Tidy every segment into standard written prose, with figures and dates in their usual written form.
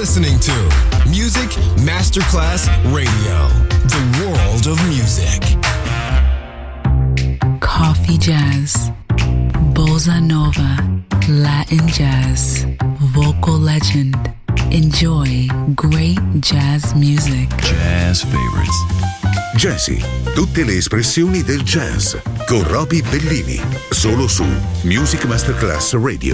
listening to Music Masterclass Radio, the world of music. Coffee jazz, bossa nova, Latin jazz, vocal legend. Enjoy great jazz music. Jazz favorites. Jazzy, tutte le espressioni del jazz con Roby Bellini, solo su Music Masterclass Radio.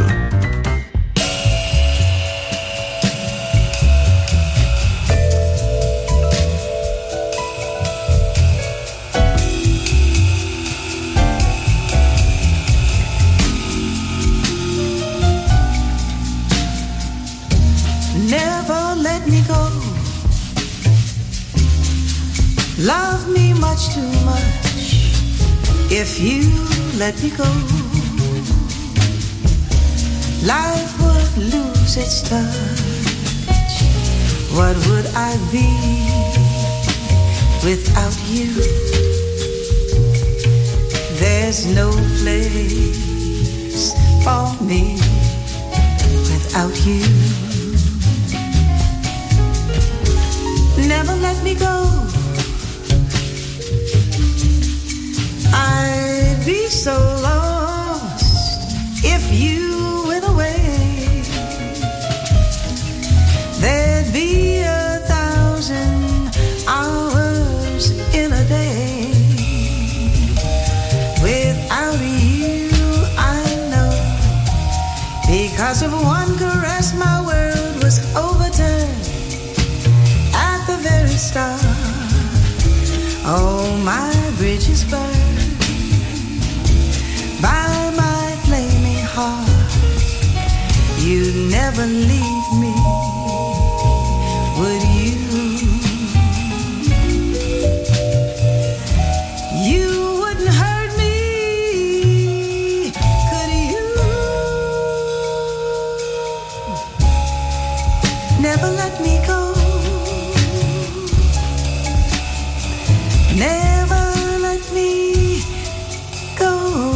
Love me much too much. If you let me go, life would lose its touch. What would I be without you? There's no place for me without you. Never let me go. I'd be so lost if you went away. There'd be 1,000 hours in a day. Without you, I know, because of one caress, my world was overturned at the very start. Oh, my bridges burned by my flaming heart. You'd never leave me, would you? You wouldn't hurt me, could you? Never let me go. Never let me go.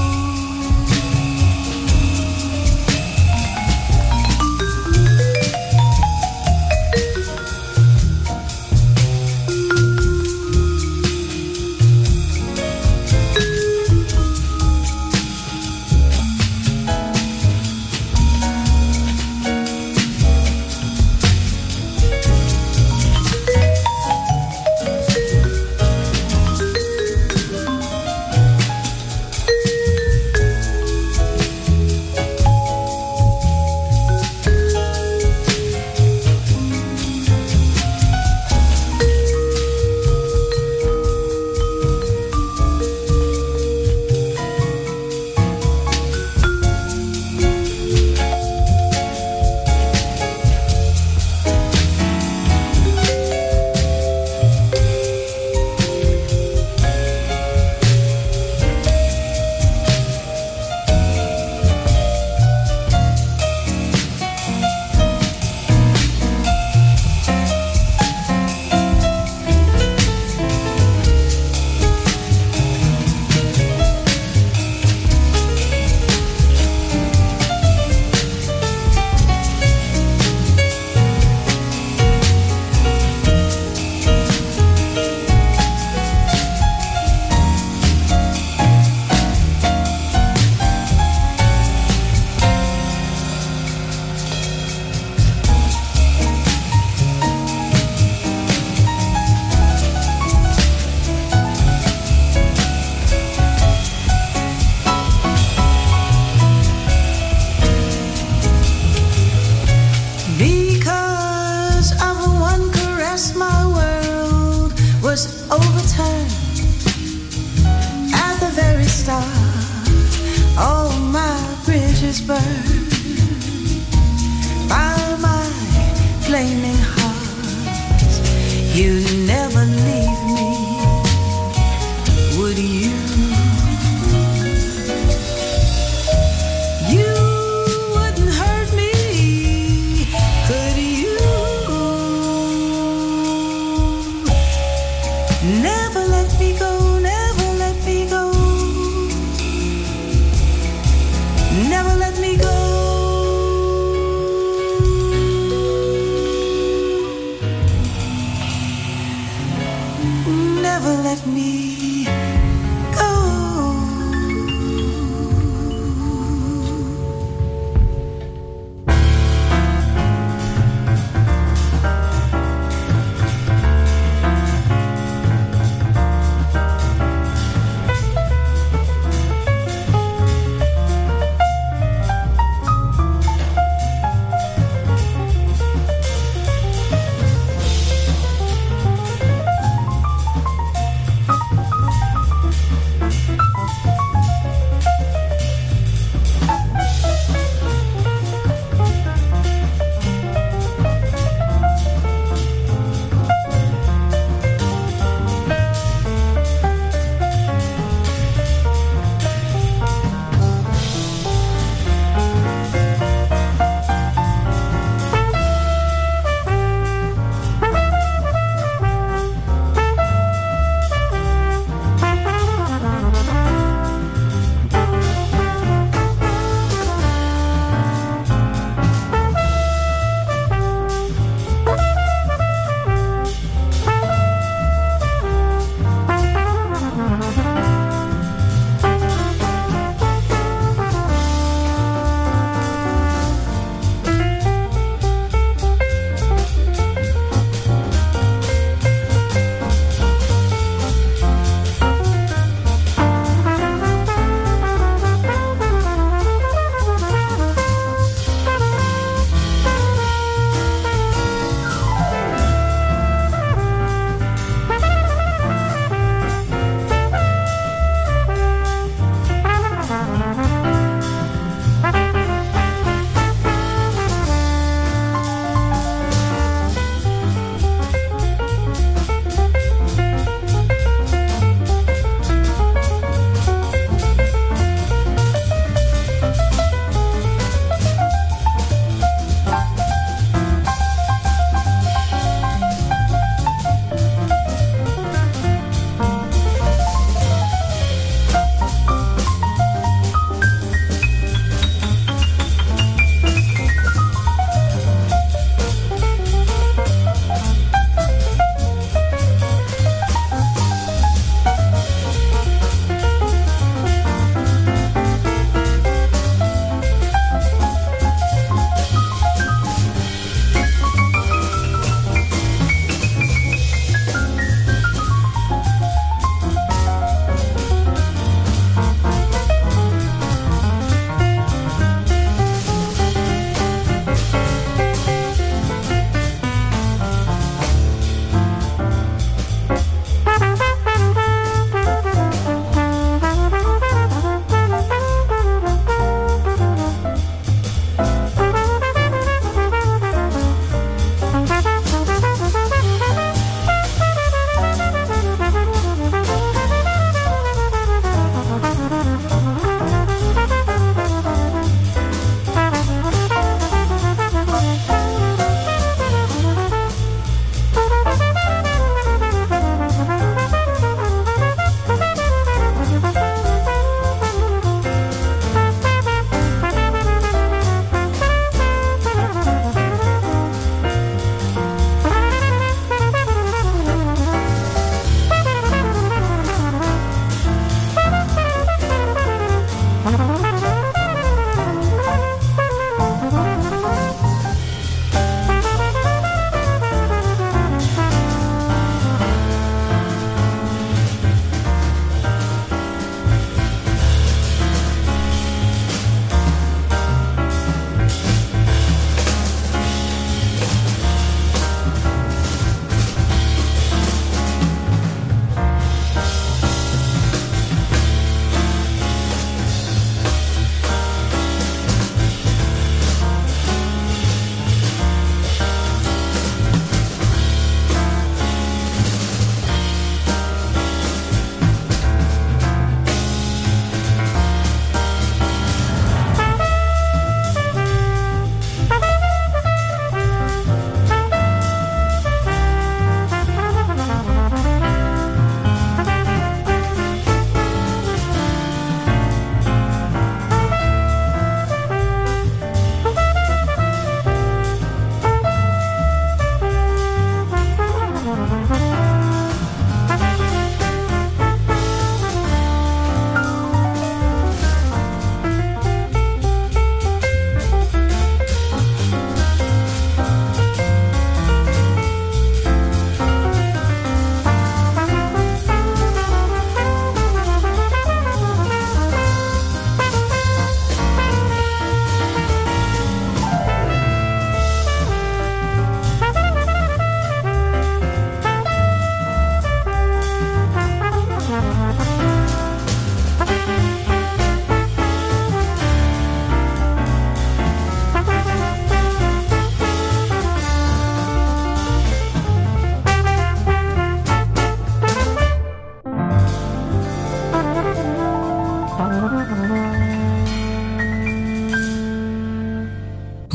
Never let me go, never let me go. Never let me go.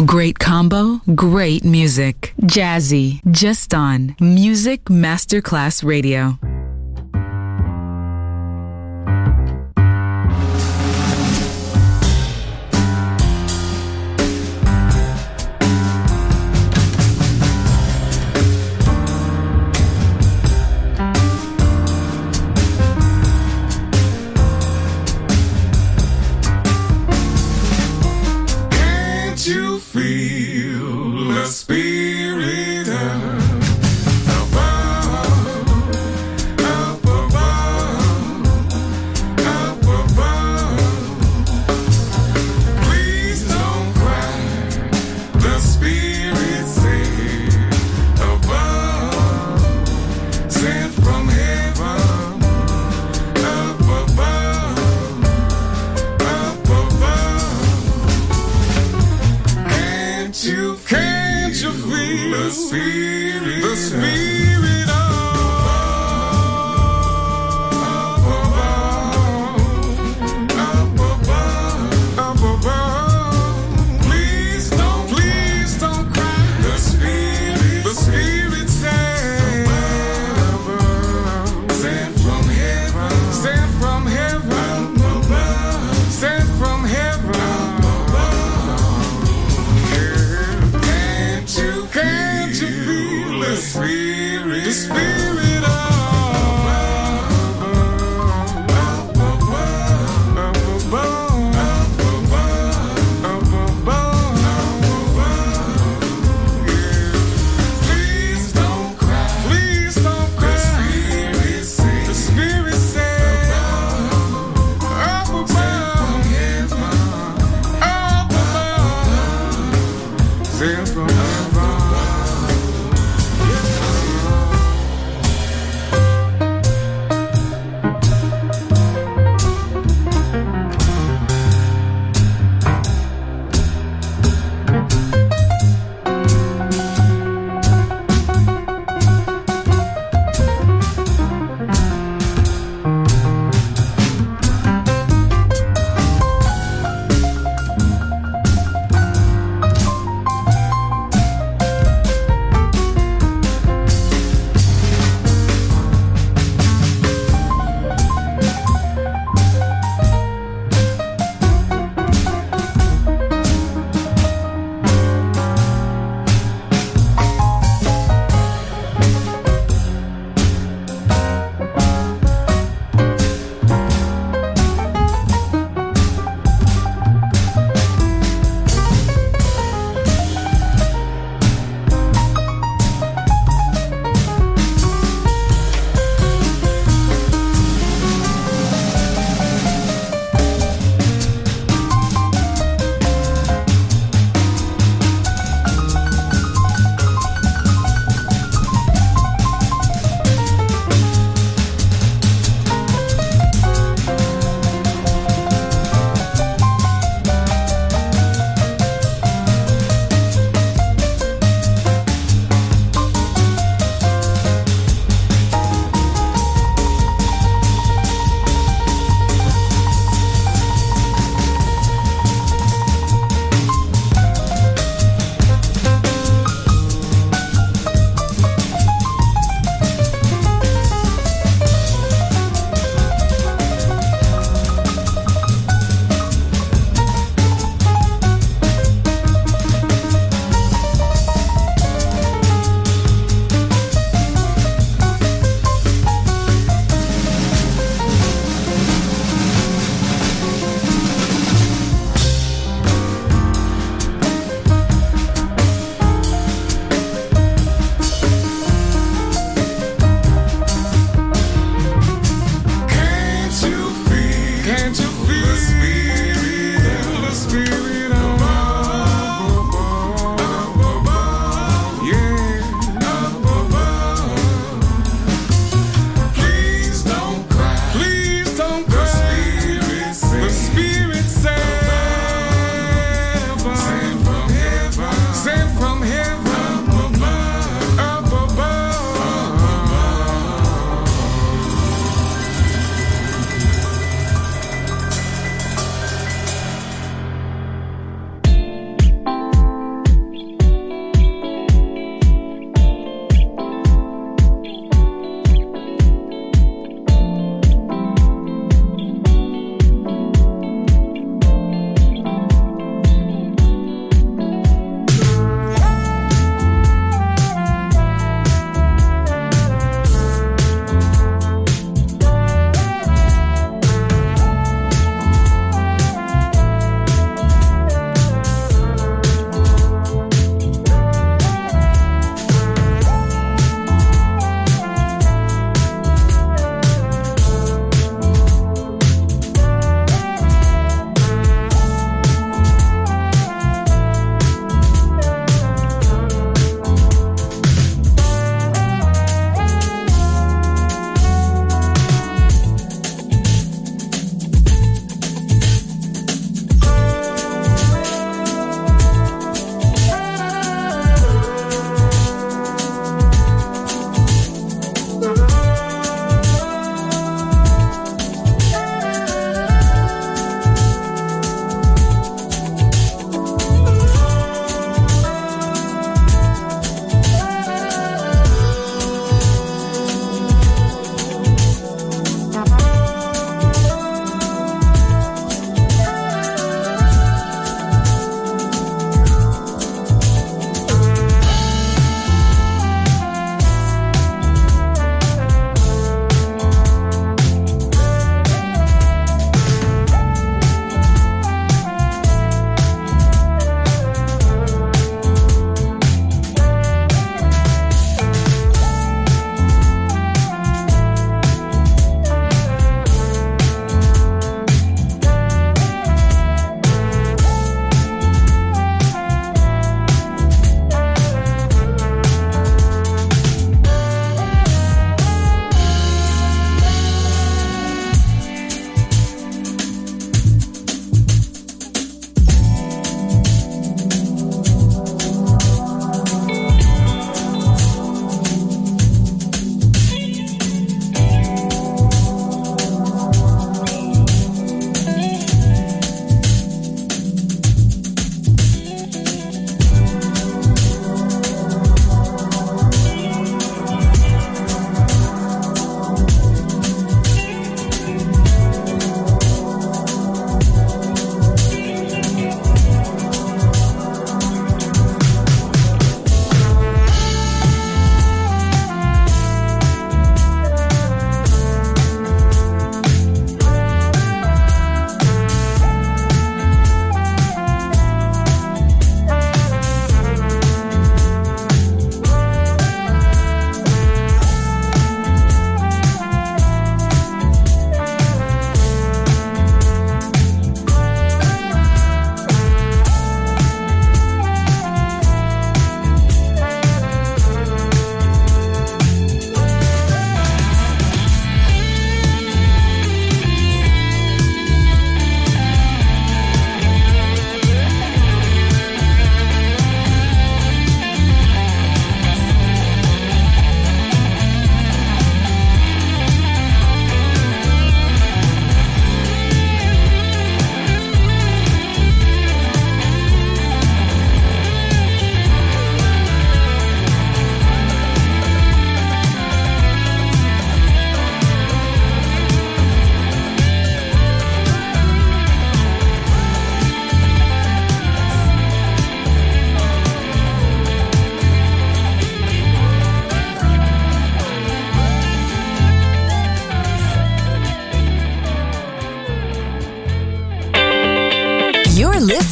Great combo, great music. Jazzy, just on Music Masterclass Radio.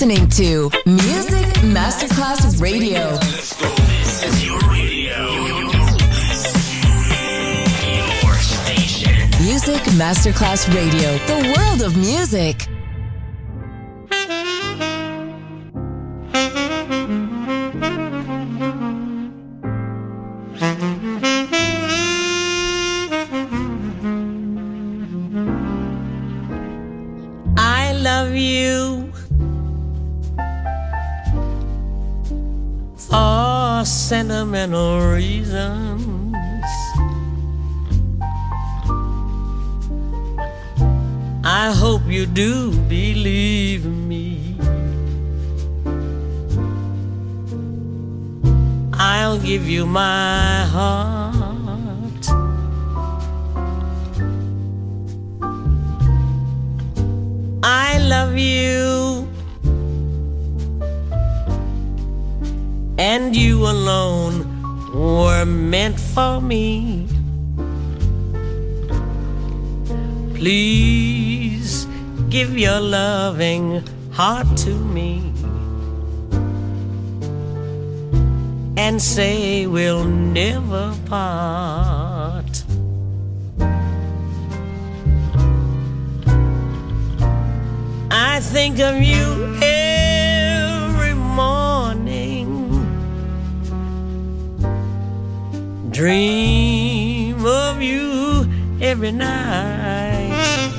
listening to Music Masterclass Radio. Let's go. This is your radio. Your station. Music Masterclass Radio. The world of music. I love you for sentimental reasons. I hope you do believe me. I'll give you my heart. I love you, and you alone were meant for me. Please give your loving heart to me and say we'll never part. I think of you every morning, dream of you every night.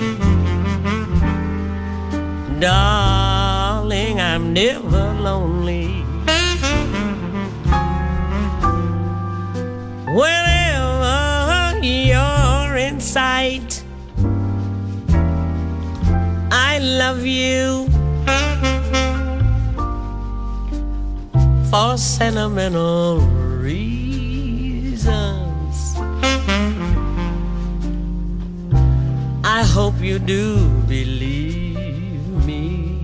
Darling, I'm never lonely. Whenever you're in sight, I love you for sentimental reasons. I hope you do believe me.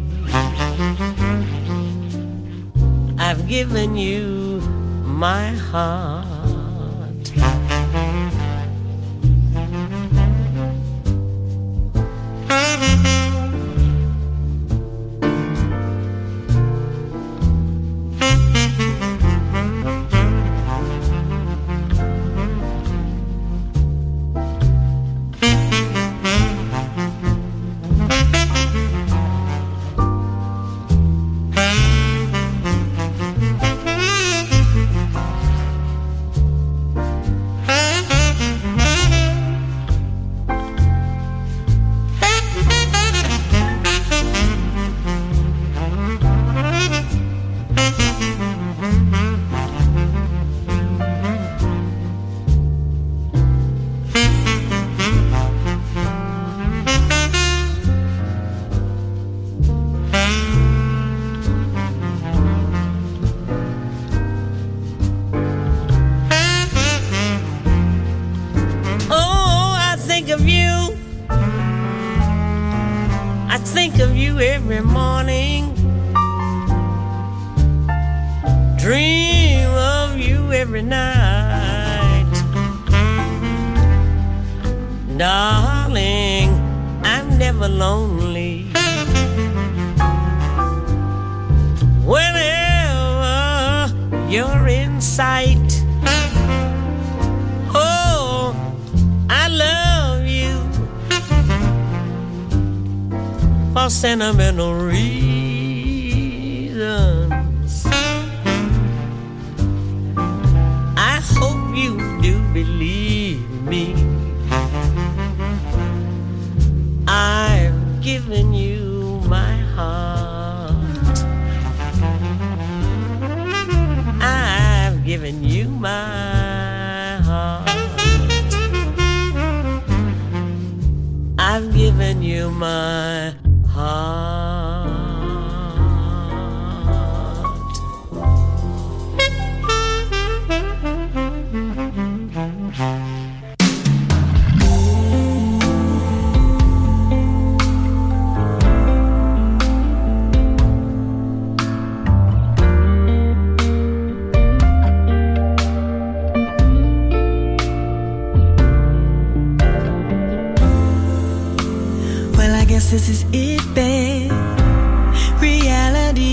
I've given you my heart. Every morning, dream of you every night. Darling, I'm never lonely. Whenever you're in sight, oh, I love you for sentimental reasons. I hope you do believe me. I've given you my heart. I've given you my heart. I've given you my heart. Well, I guess this is it, babe. Reality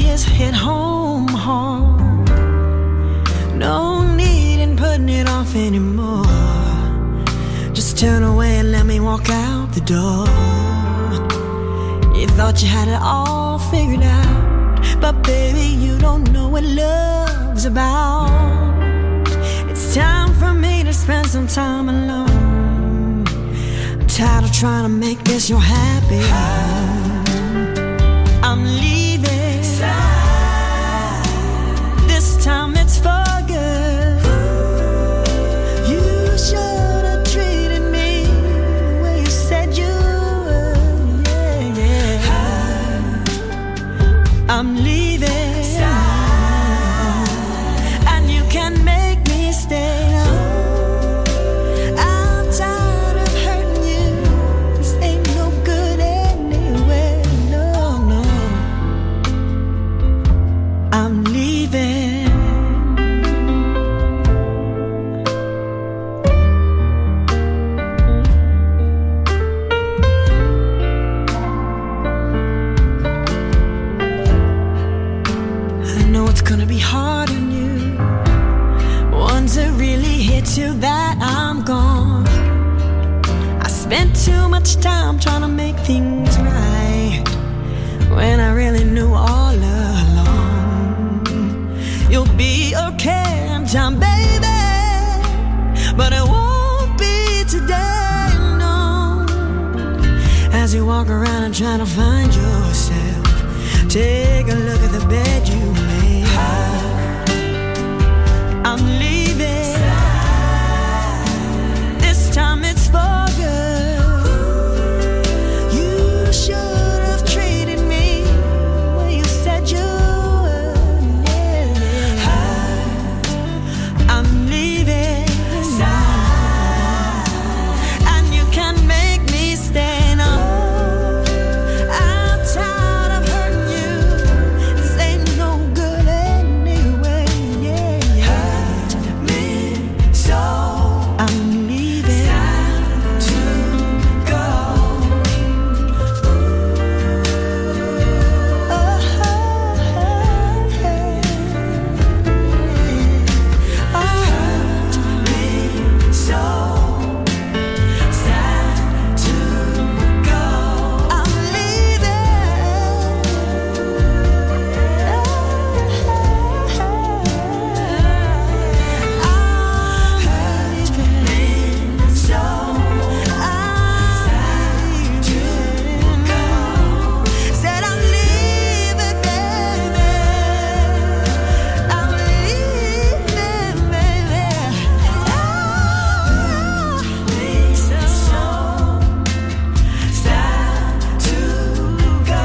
off anymore. Just turn away and let me walk out the door. You thought you had it all figured out, but baby, you don't know what love's about. It's time for me to spend some time alone. I'm tired of trying to make this your happy home. I'm leaving. This time it's for good. You should have treated me the way you said you would. Yeah, yeah. I'm leaving, and you can make me stay. I'm tired of hurting you. This ain't no good anyway. No, no. I'm leaving. I know it's gonna be hard on you. Once it really hits you that I'm gone. I spent too much time trying to make things right, when I really knew all along you'll be okay in time, baby, but it won't be today, no. As you walk around and try to find yourself, take a look at the bed you made. I'm leaving. This time it's for good. You should have treated me the way you said you would. Yeah, yeah. I'm leaving, and you can make me stay. No, I'm tired of hurting you. This ain't no good anyway. Yeah, yeah. Hurt me so. I'm leaving. Time to go. Oh, hurt me so. Sad to go. I'm leaving. Said I'm leaving, baby. I'm leaving, baby. So sad to go.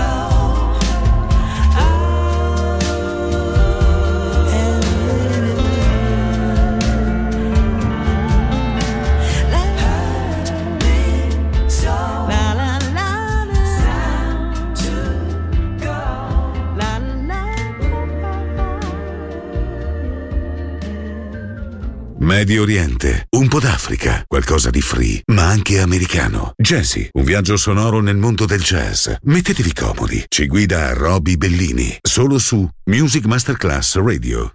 Medio Oriente, un po' d'Africa, qualcosa di free, ma anche americano. Jazzy, un viaggio sonoro nel mondo del jazz. Mettetevi comodi. Ci guida Roby Bellini, solo su Music Masterclass Radio.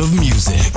of music.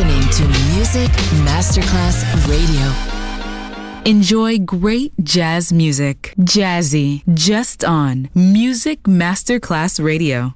listening to Music Masterclass Radio. Enjoy great jazz music. Jazzy, just on Music Masterclass Radio.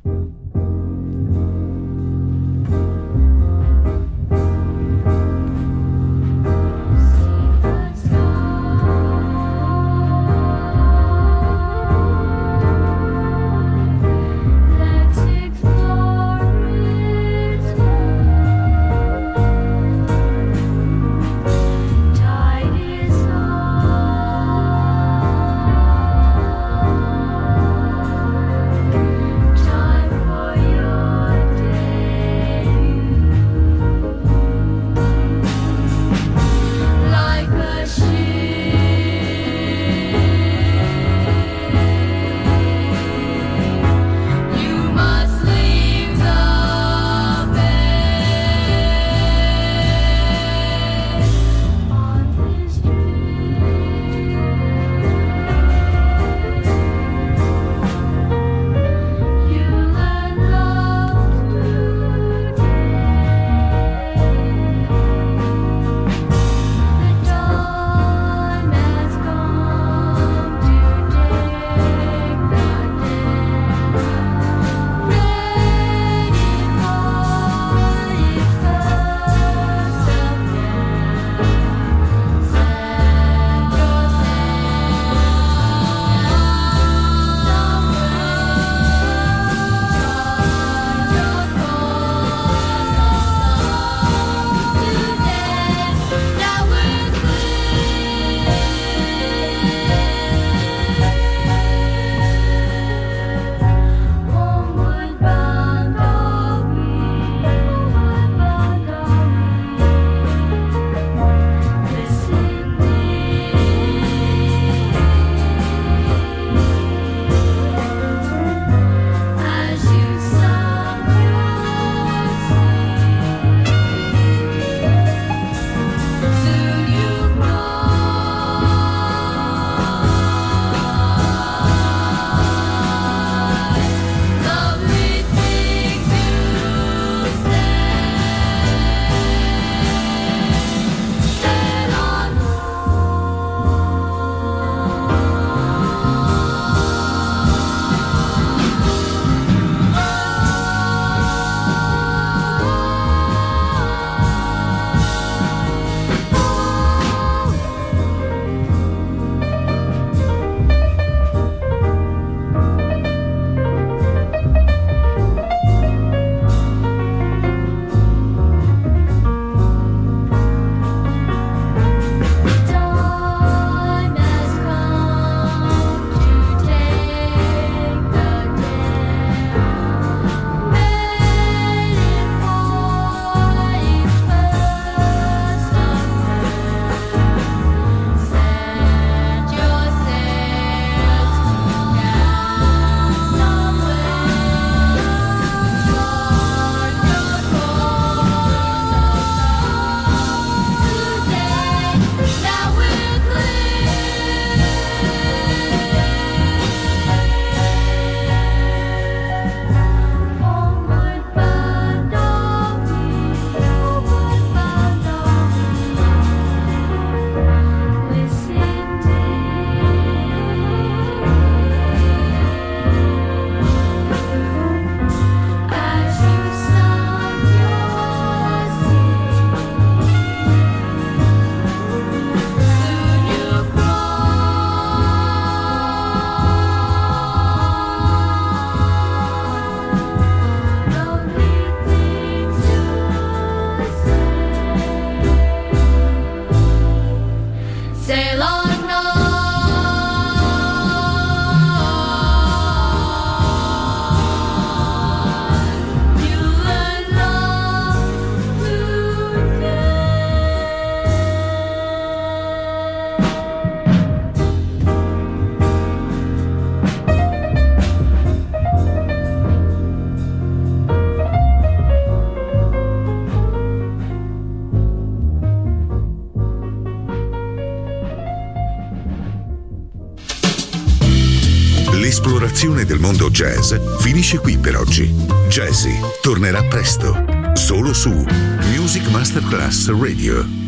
L'esplorazione del mondo jazz finisce qui per oggi. Jazzy tornerà presto, solo su Music Masterclass Radio.